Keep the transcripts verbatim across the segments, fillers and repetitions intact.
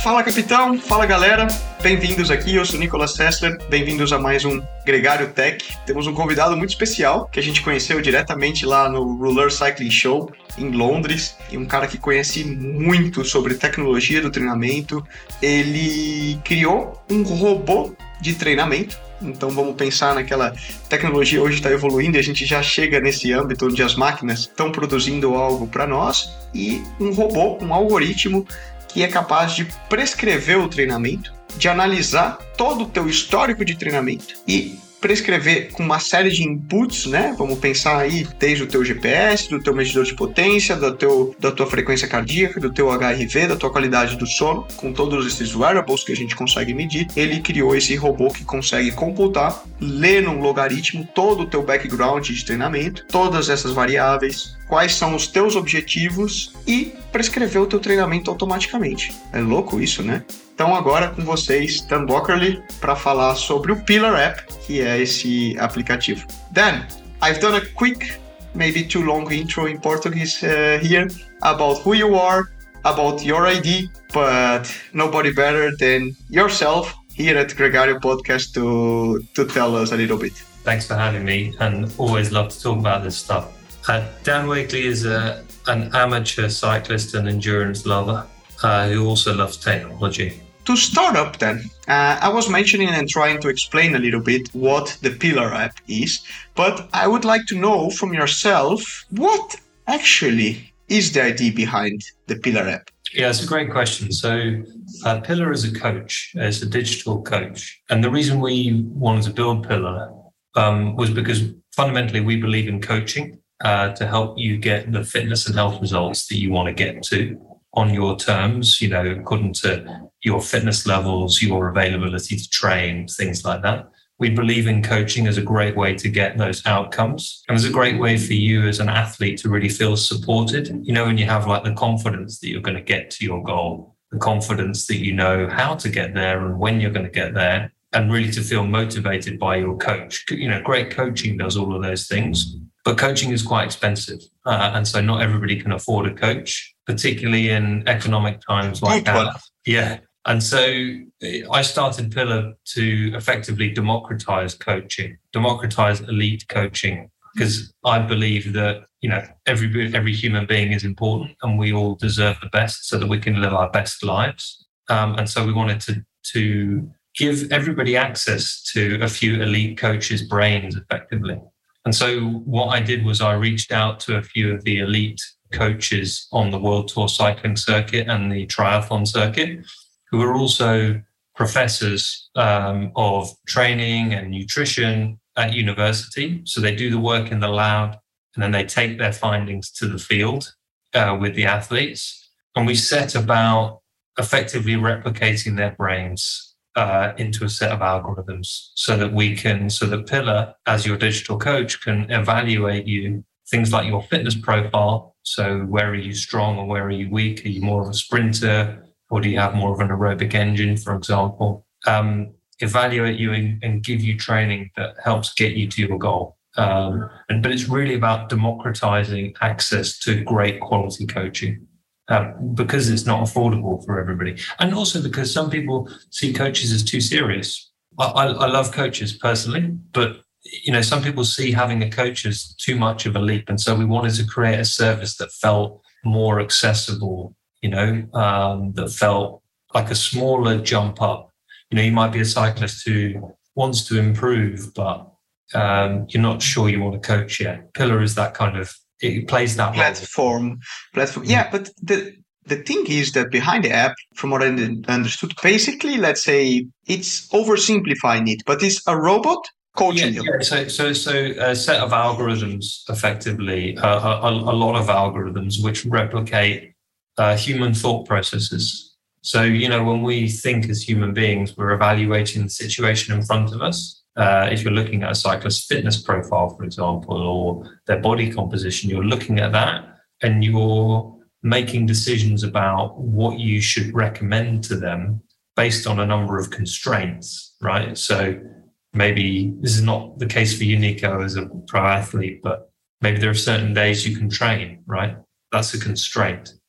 Fala, capitão! Fala, galera! Bem-vindos aqui, eu sou Nicolas Sessler, bem-vindos a mais um Gregário Tech. Temos um convidado muito especial, que a gente conheceu diretamente lá no Roller Cycling Show, em Londres, e um cara que conhece muito sobre tecnologia do treinamento. Ele criou um robô de treinamento. Então vamos pensar naquela tecnologia hoje está evoluindo e a gente já chega nesse âmbito onde as máquinas estão produzindo algo para nós, e um robô, um algoritmo que é capaz de prescrever o treinamento, de analisar todo o teu histórico de treinamento e prescrever com uma série de inputs, né? Vamos pensar aí desde o teu G P S, do teu medidor de potência, do teu, da tua frequência cardíaca, do teu H R V, da tua qualidade do sono, com todos esses wearables que a gente consegue medir. Ele criou esse robô que consegue computar, ler num logaritmo todo o teu background de treinamento, todas essas variáveis, quais são os teus objetivos e prescrever o teu treinamento automaticamente. É louco isso, né? Então agora com vocês, Dan Dockerly, para falar sobre o Pillar App, que é esse aplicativo. Dan, I've done a quick, maybe too long intro in Portuguese uh, here about who you are, about your I D, but nobody better than yourself here at Gregário Podcast to, to tell us a little bit. Thanks for having me, and always love to talk about this stuff. Uh, Dan Wakely is a, an amateur cyclist and endurance lover uh, who also loves technology. To start up then, uh, I was mentioning and trying to explain a little bit what the Pillar App is, but I would like to know from yourself, what actually is the idea behind the Pillar App? Yeah, it's a great question. So uh, Pillar is a coach, it's a digital coach. And the reason we wanted to build Pillar um, was because fundamentally we believe in coaching uh, to help you get the fitness and health results that you want to get to on your terms, you know, according to your fitness levels, your availability to train, things like that. We believe in coaching as a great way to get those outcomes. And it's a great way for you as an athlete to really feel supported. You know, when you have like the confidence that you're going to get to your goal, the confidence that you know how to get there and when you're going to get there, and really to feel motivated by your coach. You know, great coaching does all of those things, but coaching is quite expensive. Uh, and so not everybody can afford a coach, particularly in economic times like that. Yeah. And so I started Pillar to effectively democratize coaching, democratize elite coaching, because I believe that, you know, every every human being is important and we all deserve the best so that we can live our best lives. Um, and so we wanted to to give everybody access to a few elite coaches' brains effectively. And so what I did was I reached out to a few of the elite coaches on the World Tour cycling circuit and the triathlon circuit, who are also professors um, of training and nutrition at university. So they do the work in the lab and then they take their findings to the field uh, with the athletes. And we set about effectively replicating their brains uh, into a set of algorithms so that we can, so that Pillar, as your digital coach, can evaluate you, things like your fitness profile. So where are you strong or where are you weak? Are you more of a sprinter? Or do you have more of an aerobic engine, for example? Um, evaluate you and, and give you training that helps get you to your goal. Um, and, but it's really about democratizing access to great quality coaching uh, because it's not affordable for everybody. And also because some people see coaches as too serious. I, I, I love coaches personally, but you know, some people see having a coach as too much of a leap. And so we wanted to create a service that felt more accessible, you know, um, that felt like a smaller jump up. You know, you might be a cyclist who wants to improve, but um, you're not sure you want to coach yet. Pillar is that kind of, it plays that platform. Platform. Yeah, but the the thing is that behind the app, from what I understood, basically, let's say it's oversimplifying it, but it's a robot coaching yeah, you. Yeah. So, so, so a set of algorithms, effectively, uh, a, a lot of algorithms which replicate Uh, human thought processes. So, you know, when we think as human beings, we're evaluating the situation in front of us. Uh, if you're looking at a cyclist's fitness profile, for example, or their body composition, you're looking at that and you're making decisions about what you should recommend to them based on a number of constraints, right? So maybe this is not the case for you, Nico, as a pro athlete, but maybe there are certain days you can train, right? That's a constraint.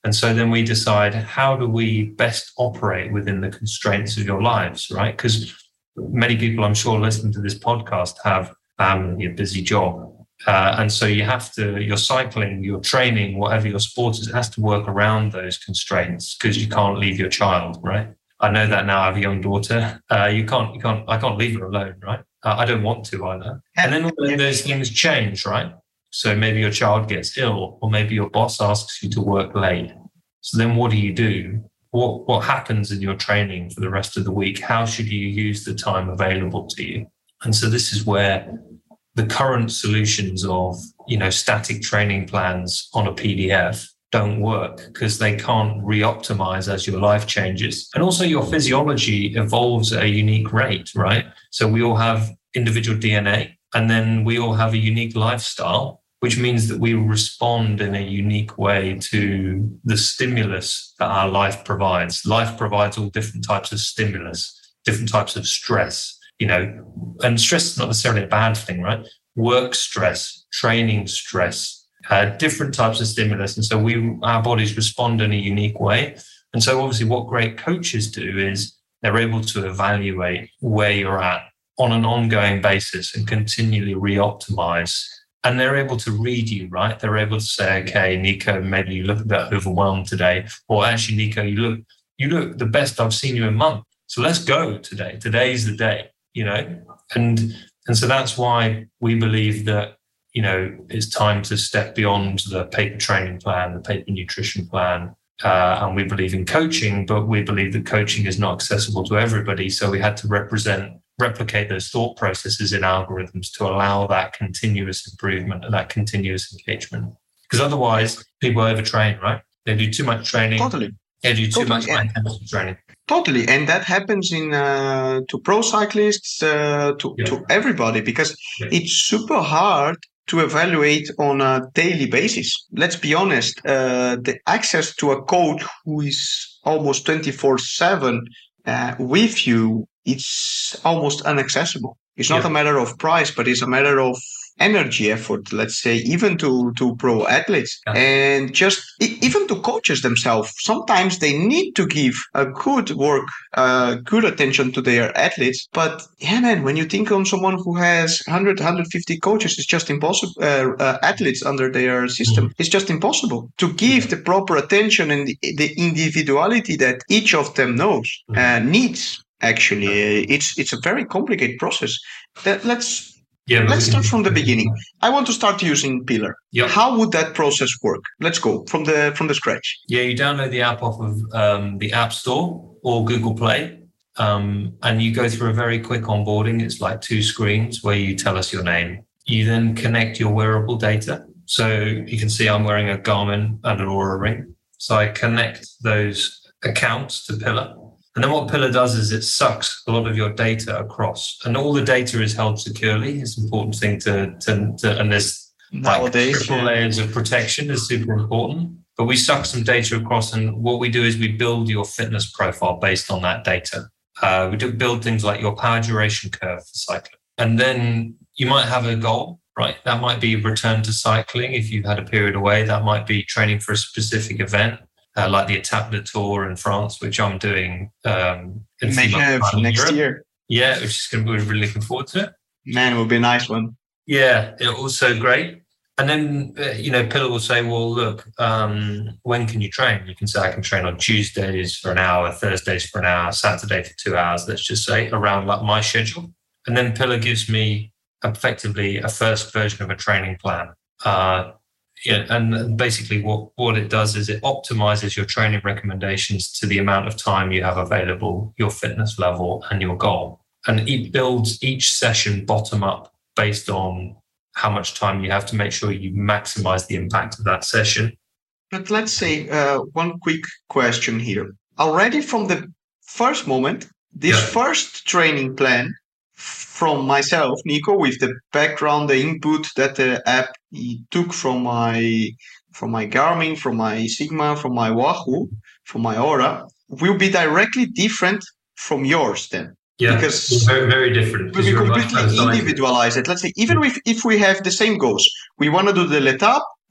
And so then we decide, how do we best operate within the constraints of your lives, right? Because many people, I'm sure, listening to this podcast have family, a busy job. Uh, and so you have to, your cycling, your training, whatever your sport is, it has to work around those constraints because you can't leave your child, right? I know that now. I have a young daughter. Uh, you can't, you can't, I can't leave her alone, right? Uh, I don't want to either. And then all those things change, right? So maybe your child gets ill, or maybe your boss asks you to work late. So then what do you do? What what happens in your training for the rest of the week? How should you use the time available to you? And so this is where the current solutions of, you know, static training plans on a P D F don't work because they can't re-optimize as your life changes. And also your physiology evolves at a unique rate, right? So we all have individual D N A, and then we all have a unique lifestyle, which means that we respond in a unique way to the stimulus that our life provides. Life provides all different types of stimulus, different types of stress, you know, and stress is not necessarily a bad thing, right? Work stress, training stress, uh, different types of stimulus. And so we, our bodies respond in a unique way. And so obviously what great coaches do is they're able to evaluate where you're at on an ongoing basis and continually re-optimize. And they're able to read you, right? They're able to say, okay, Nico, maybe you look a bit overwhelmed today. Or actually, Nico, you look, you look the best I've seen you in a month. So let's go today. Today's the day, you know? And and so that's why we believe that, you know, it's time to step beyond the paper training plan, the paper nutrition plan. Uh, and we believe in coaching, but we believe that coaching is not accessible to everybody. So we had to represent replicate those thought processes in algorithms to allow that continuous improvement and that continuous engagement. Because otherwise, people overtrain, right? They do too much training. Totally. They do too totally. much high intensity training. Totally. And that happens in uh, to pro cyclists, uh, to, yeah. to everybody, because yeah. it's super hard to evaluate on a daily basis. Let's be honest, uh, the access to a coach who is almost twenty-four seven uh, with you, it's almost inaccessible. It's not yeah. a matter of price, but it's a matter of energy, effort, let's say, even to, to pro athletes yeah. and just even to coaches themselves. Sometimes they need to give a good work, uh, good attention to their athletes. But yeah, man, when you think on someone who has one hundred, one hundred fifty coaches, it's just impossible, uh, uh, athletes under their system. Mm-hmm. It's just impossible to give the proper attention and the, the individuality that each of them knows, mm-hmm. uh, needs. Actually, uh, it's it's a very complicated process. That, let's yeah, let's start from the beginning. I want to start using Pillar. Yep. How would that process work? Let's go from the from the scratch. Yeah, you download the app off of um, the App Store or Google Play, um, and you go through a very quick onboarding. It's like two screens where you tell us your name. You then connect your wearable data. So you can see I'm wearing a Garmin and an Oura ring. So I connect those accounts to Pillar. And then what Pillar does is it sucks a lot of your data across, and all the data is held securely. It's an important thing to, to, to and there's nowadays like triple yeah. layers of protection is super important. But we suck some data across, and what we do is we build your fitness profile based on that data. Uh, we do build things like your power duration curve for cycling, and then you might have a goal, right? That might be return to cycling if you've had a period away. That might be training for a specific event. Uh, like the Etape de Tour in France, which I'm doing um, in May have next Europe. year. Yeah, which is going to be really looking forward to it. Man, it will be a nice one. Yeah, it also great. And then, uh, you know, Pillar will say, well, look, um, when can you train? You can say, I can train on Tuesdays for an hour, Thursdays for an hour, Saturday for two hours, let's just say, around like my schedule. And then Pillar gives me effectively a first version of a training plan. Uh, Yeah, and basically what, what it does is it optimizes your training recommendations to the amount of time you have available, your fitness level and your goal. And it builds each session bottom up based on how much time you have to make sure you maximize the impact of that session. But let's say uh, one quick question here. Already from the first moment, this yeah. first training plan from myself, Nico, with the background, the input that the app took from my from my Garmin, from my Sigma, from my Wahoo, from my Oura, will be directly different from yours then. Yeah, because very, very different. We completely individualize it. Let's say, even if, if we have the same goals, we want to do the L'Etape,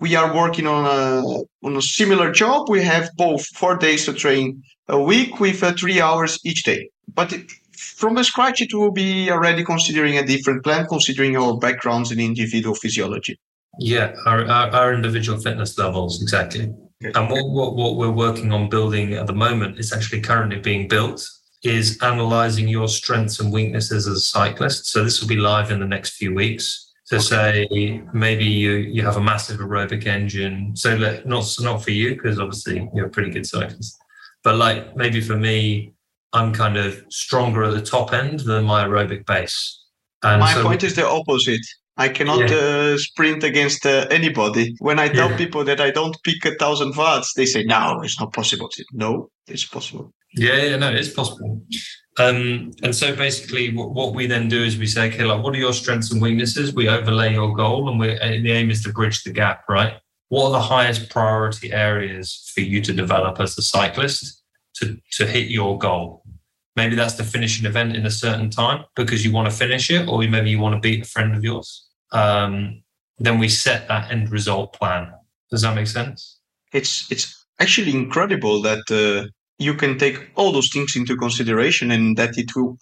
we are working on a on a similar job. We have both four days to train a week with uh, three hours each day. But it, from the scratch, it will be already considering a different plan, considering our backgrounds in individual physiology. Yeah, our, our, our individual fitness levels, exactly. Okay. And what, what, what we're working on building at the moment is actually currently being built, is analyzing your strengths and weaknesses as a cyclist. So this will be live in the next few weeks. So okay. say maybe you, you have a massive aerobic engine. So let, not, not for you, because obviously you're a pretty good cyclist. But like maybe for me, I'm kind of stronger at the top end than my aerobic base. And my so, point is the opposite. I cannot yeah. uh, sprint against uh, anybody. When I tell yeah. people that I don't pick a thousand watts, they say, no, it's not possible. I say, no, it's possible. Yeah, yeah, no, it's possible. Um, and so basically what, what we then do is we say, okay, like, what are your strengths and weaknesses? We overlay your goal, and we the aim is to bridge the gap, right? What are the highest priority areas for you to develop as a cyclist to, to hit your goal? Maybe that's to finish an event in a certain time because you want to finish it, or maybe you want to beat a friend of yours. Um, then we set that end result plan. Does that make sense? It's it's actually incredible that uh, you can take all those things into consideration and that it will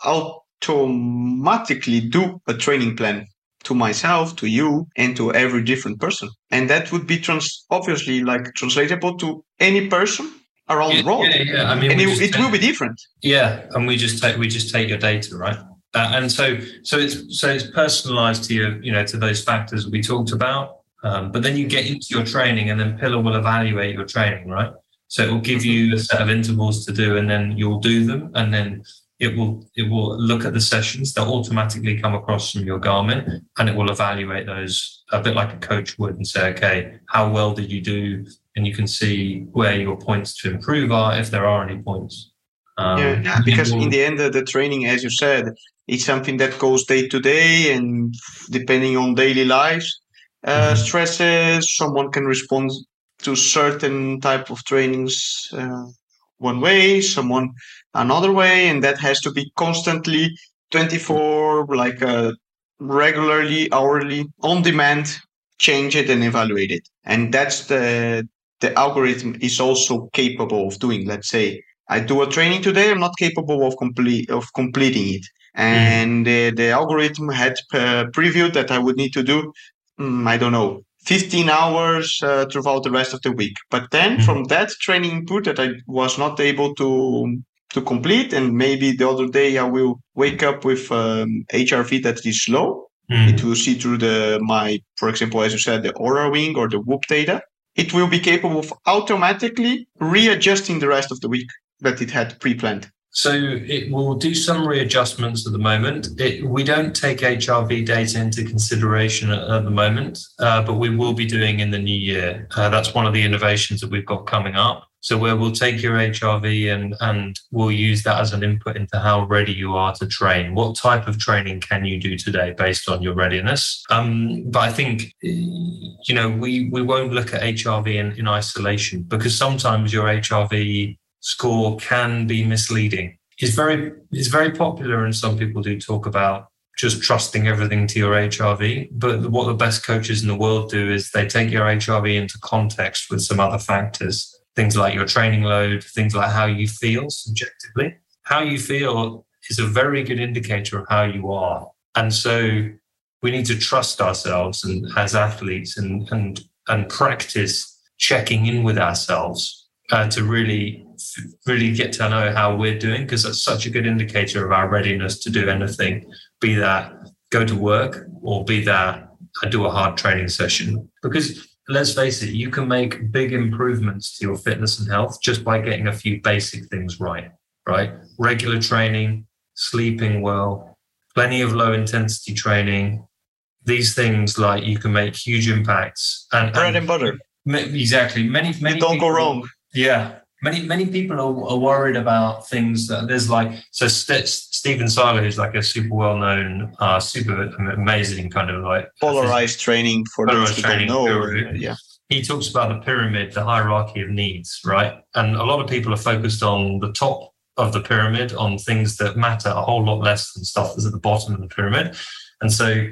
automatically do a training plan to myself, to you, and to every different person. And that would be trans- obviously like translatable to any person around yeah, the world. Yeah, yeah. I mean, and it, it take, will be different. Yeah, and we just take we just take your data, right? Uh, and so so it's so it's personalized to you, you know, to those factors we talked about. Um, but then you get into your training, and then Pillar will evaluate your training, right? So it will give you a set of intervals to do, and then you'll do them, and then it will it will look at the sessions that automatically come across from your Garmin, and it will evaluate those a bit like a coach would and say, okay, how well did you do? And you can see where your points to improve are, if there are any points. Um, yeah, yeah, because in the end, uh, the training, as you said, it's something that goes day to day, and depending on daily lives, uh, mm-hmm. stresses, someone can respond to certain type of trainings uh, one way, someone another way, and that has to be constantly twenty-four, like uh, regularly, hourly, on demand, change it and evaluate it. And that's the the algorithm is also capable of doing. Let's say I do a training today, I'm not capable of complete of completing it, and mm. uh, the algorithm had uh, previewed that I would need to do, um, I don't know, fifteen hours uh, throughout the rest of the week. But then mm. from that training input that I was not able to to complete, and maybe the other day I will wake up with um, H R V that is low. Mm. It will see through the my, for example, as you said, the Oura Ring or the Whoop data. It will be capable of automatically readjusting the rest of the week that it had pre-planned. So it will do some readjustments at the moment. It, we don't take H R V data into consideration at, at the moment, uh, but we will be doing in the new year. Uh, that's one of the innovations that we've got coming up. So where we'll take your H R V and, and we'll use that as an input into how ready you are to train. What type of training can you do today based on your readiness? Um, but I think, you know, we, we won't look at H R V in, in isolation, because sometimes your H R V score can be misleading. It's very, it's very popular, and some people do talk about just trusting everything to your H R V. But what the best coaches in the world do is they take your H R V into context with some other factors. Things like your training load, things like how you feel subjectively. How you feel is a very good indicator of how you are. And so we need to trust ourselves and as athletes and and, and practice checking in with ourselves uh, to really, really get to know how we're doing, because that's such a good indicator of our readiness to do anything, be that go to work or be that do a hard training session. Because let's face it, you can make big improvements to your fitness and health just by getting a few basic things right, right? Regular training, sleeping well, plenty of low intensity training. These things, like, you can make huge impacts. And bread and, and butter. Exactly. Many, many you don't people, go wrong. Yeah. Many, many people are, are worried about things that there's like, so St- Stephen Seiler, who's like a super well-known, uh, super amazing kind of like polarized training for those who don't know. Or, yeah. He talks about the pyramid, the hierarchy of needs, right? And a lot of people are focused on the top of the pyramid, on things that matter a whole lot less than stuff that's at the bottom of the pyramid. And so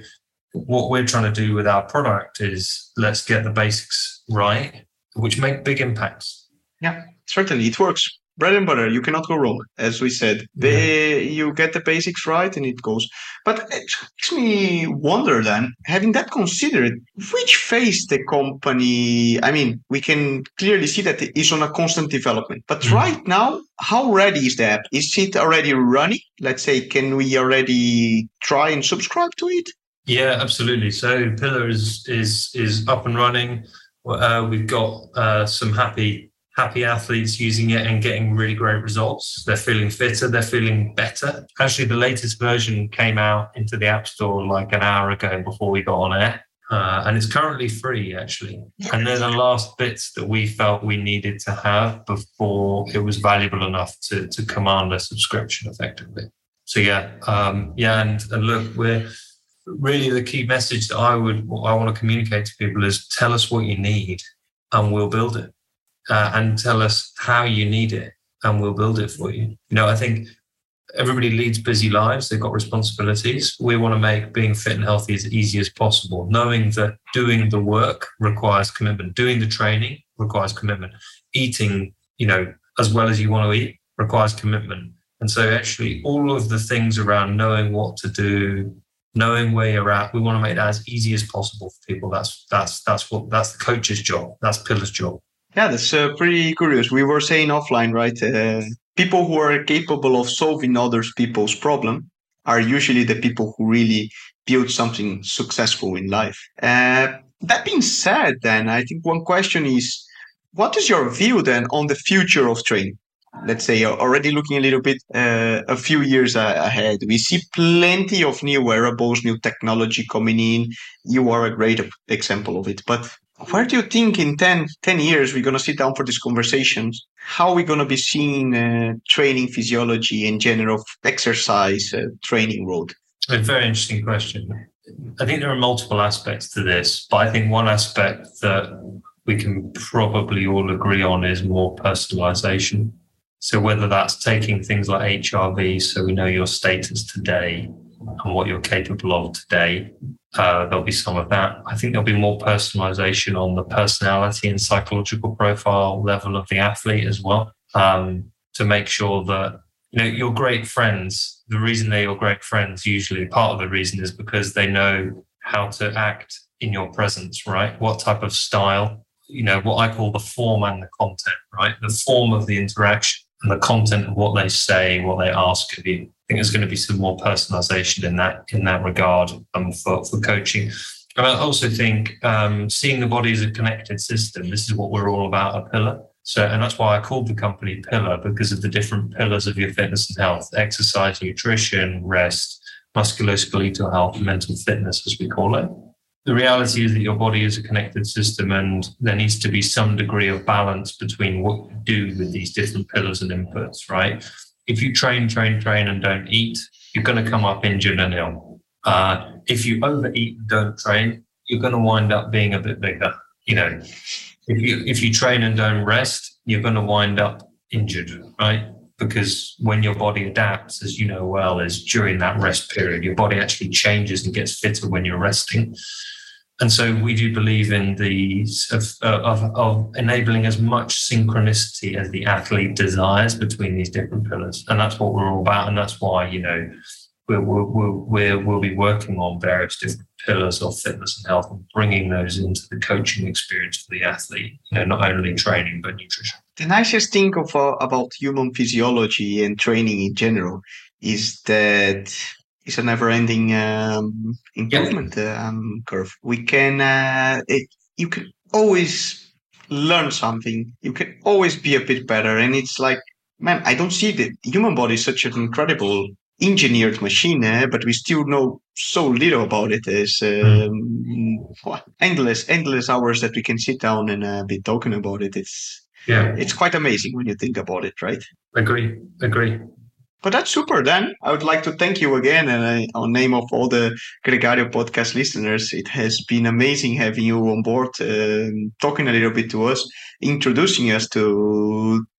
what we're trying to do with our product is let's get the basics right, which make big impacts. Yeah, certainly it works. Bread and butter, you cannot go wrong. As we said, they, yeah. You get the basics right and it goes. But it makes me wonder then, having that considered, which phase the company, I mean, we can clearly see that it is on a constant development. But mm-hmm. right now, how ready is the app? Is it already running? Let's say, can we already try and subscribe to it? Yeah, absolutely. So Pillar is is is up and running. Uh, we've got uh, some happy happy athletes using it and getting really great results. They're feeling fitter. They're feeling better. Actually, the latest version came out into the App Store like an hour ago before we got on air. Uh, and it's currently free, actually. And they're the last bits that we felt we needed to have before it was valuable enough to, to command a subscription effectively. So, yeah, um, yeah, and, and look, we're really the key message that I would I want to communicate to people is tell us what you need and we'll build it. Uh, and tell us how you need it and we'll build it for you. You know, I think everybody leads busy lives. They've got responsibilities. We want to make being fit and healthy as easy as possible, knowing that doing the work requires commitment. Doing the training requires commitment. Eating, you know, as well as you want to eat requires commitment. And so actually all of the things around knowing what to do, knowing where you're at, we want to make that as easy as possible for people. That's that's that's what that's the coach's job. That's Pillar's job. Yeah, that's uh, pretty curious. We were saying offline, right? Uh, people who are capable of solving other people's problem are usually the people who really build something successful in life. Uh, that being said, then, I think one question is, what is your view then on the future of training? Let's say already looking a little bit uh, a few years ahead. We see plenty of new wearables, new technology coming in. You are a great example of it. But where do you think in ten, ten years we're going to sit down for these conversations? How are we going to be seeing uh, training physiology and general exercise uh, training world? A very interesting question. I think there are multiple aspects to this, but I think one aspect that we can probably all agree on is more personalization. So whether that's taking things like H R V, so we know your status today and what you're capable of today, uh, there'll be some of that. I think there'll be more personalization on the personality and psychological profile level of the athlete as well, um, to make sure that, you know, your great friends, the reason they're your great friends, usually part of the reason is because they know how to act in your presence, right? What type of style, you know, what I call the form and the content, right? The form of the interaction and the content of what they say, what they ask of you. I think there's going to be some more personalization in that in that regard um, for, for coaching. And I also think um, seeing the body as a connected system, this is what we're all about at Pillar. So, and that's why I called the company Pillar, because of the different pillars of your fitness and health: exercise, nutrition, rest, musculoskeletal health, and mental fitness, as we call it. The reality is that your body is a connected system, and there needs to be some degree of balance between what you do with these different pillars and inputs, right? If you train, train, train and don't eat, you're going to come up injured and ill. Uh, if you overeat and don't train, you're going to wind up being a bit bigger. You know, if you if you train and don't rest, you're going to wind up injured, right? Because when your body adapts, as you know well, is during that rest period, your body actually changes and gets fitter when you're resting. And so we do believe in the of, of, of enabling as much synchronicity as the athlete desires between these different pillars. And that's what we're all about. And that's why, you know, we'll, we'll, we'll, we'll be working on various different pillars of fitness and health and bringing those into the coaching experience for the athlete, you know, not only training, but nutrition. The nicest thing of, uh, about human physiology and training in general is that it's a never-ending um, improvement yep. um, curve. We can, uh, it, you can always learn something. You can always be a bit better. And it's like, man, I don't see the human body is such an incredible engineered machine, eh? But we still know so little about it. As um, mm. endless, endless hours that we can sit down and uh, be talking about it. It's yeah, it's quite amazing when you think about it, right? Agree, agree. But that's super, Dan. I would like to thank you again, and uh, on name of all the Gregario podcast listeners, it has been amazing having you on board, uh, talking a little bit to us, introducing us to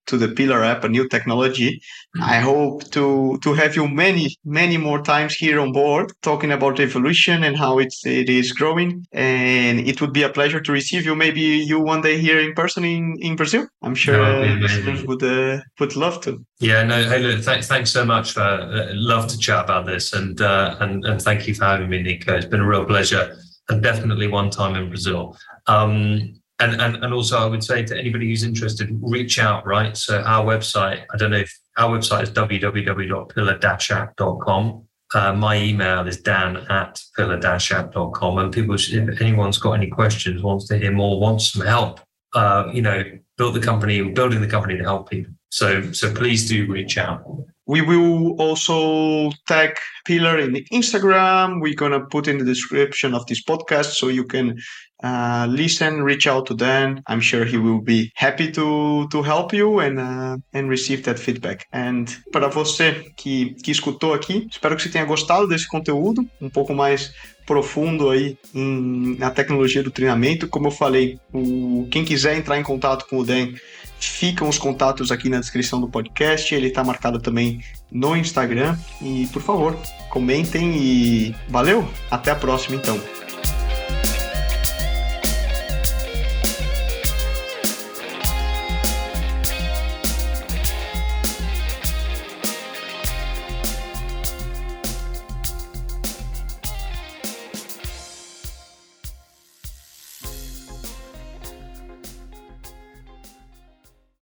to the Pillar app, a new technology. I hope to to have you many, many more times here on board talking about evolution and how it's, it is growing. And it would be a pleasure to receive you, maybe you one day here in person in, in Brazil. I'm sure uh, listeners would, uh, would love to. Yeah, no, hey, look, th- thanks so much. For, uh, love to chat about this, and, uh, and and thank you for having me, Nico. It's been a real pleasure, and definitely one time in Brazil. Um, and, and and also, I would say to anybody who's interested, reach out, right? So our website, I don't know if our website is w w w dot pillar dash app dot com. Uh, my email is dan at pillar dash app dot com. And people, if anyone's got any questions, wants to hear more, wants some help, uh, you know, build the company, building the company to help people. So, so please do reach out. We will also tag Pillar in the Instagram. We're going to put in the description of this podcast so you can uh, listen, reach out to Dan. I'm sure he will be happy to, to help you and, uh, and receive that feedback. And para você que, que escutou aqui, espero que você tenha gostado desse conteúdo, um pouco mais profundo aí em, na tecnologia do treinamento. Como eu falei, o, quem quiser entrar em contato com o Dan, ficam os contatos aqui na descrição do podcast. Ele está marcado também no Instagram. E, por favor, comentem e valeu! Até a próxima, então.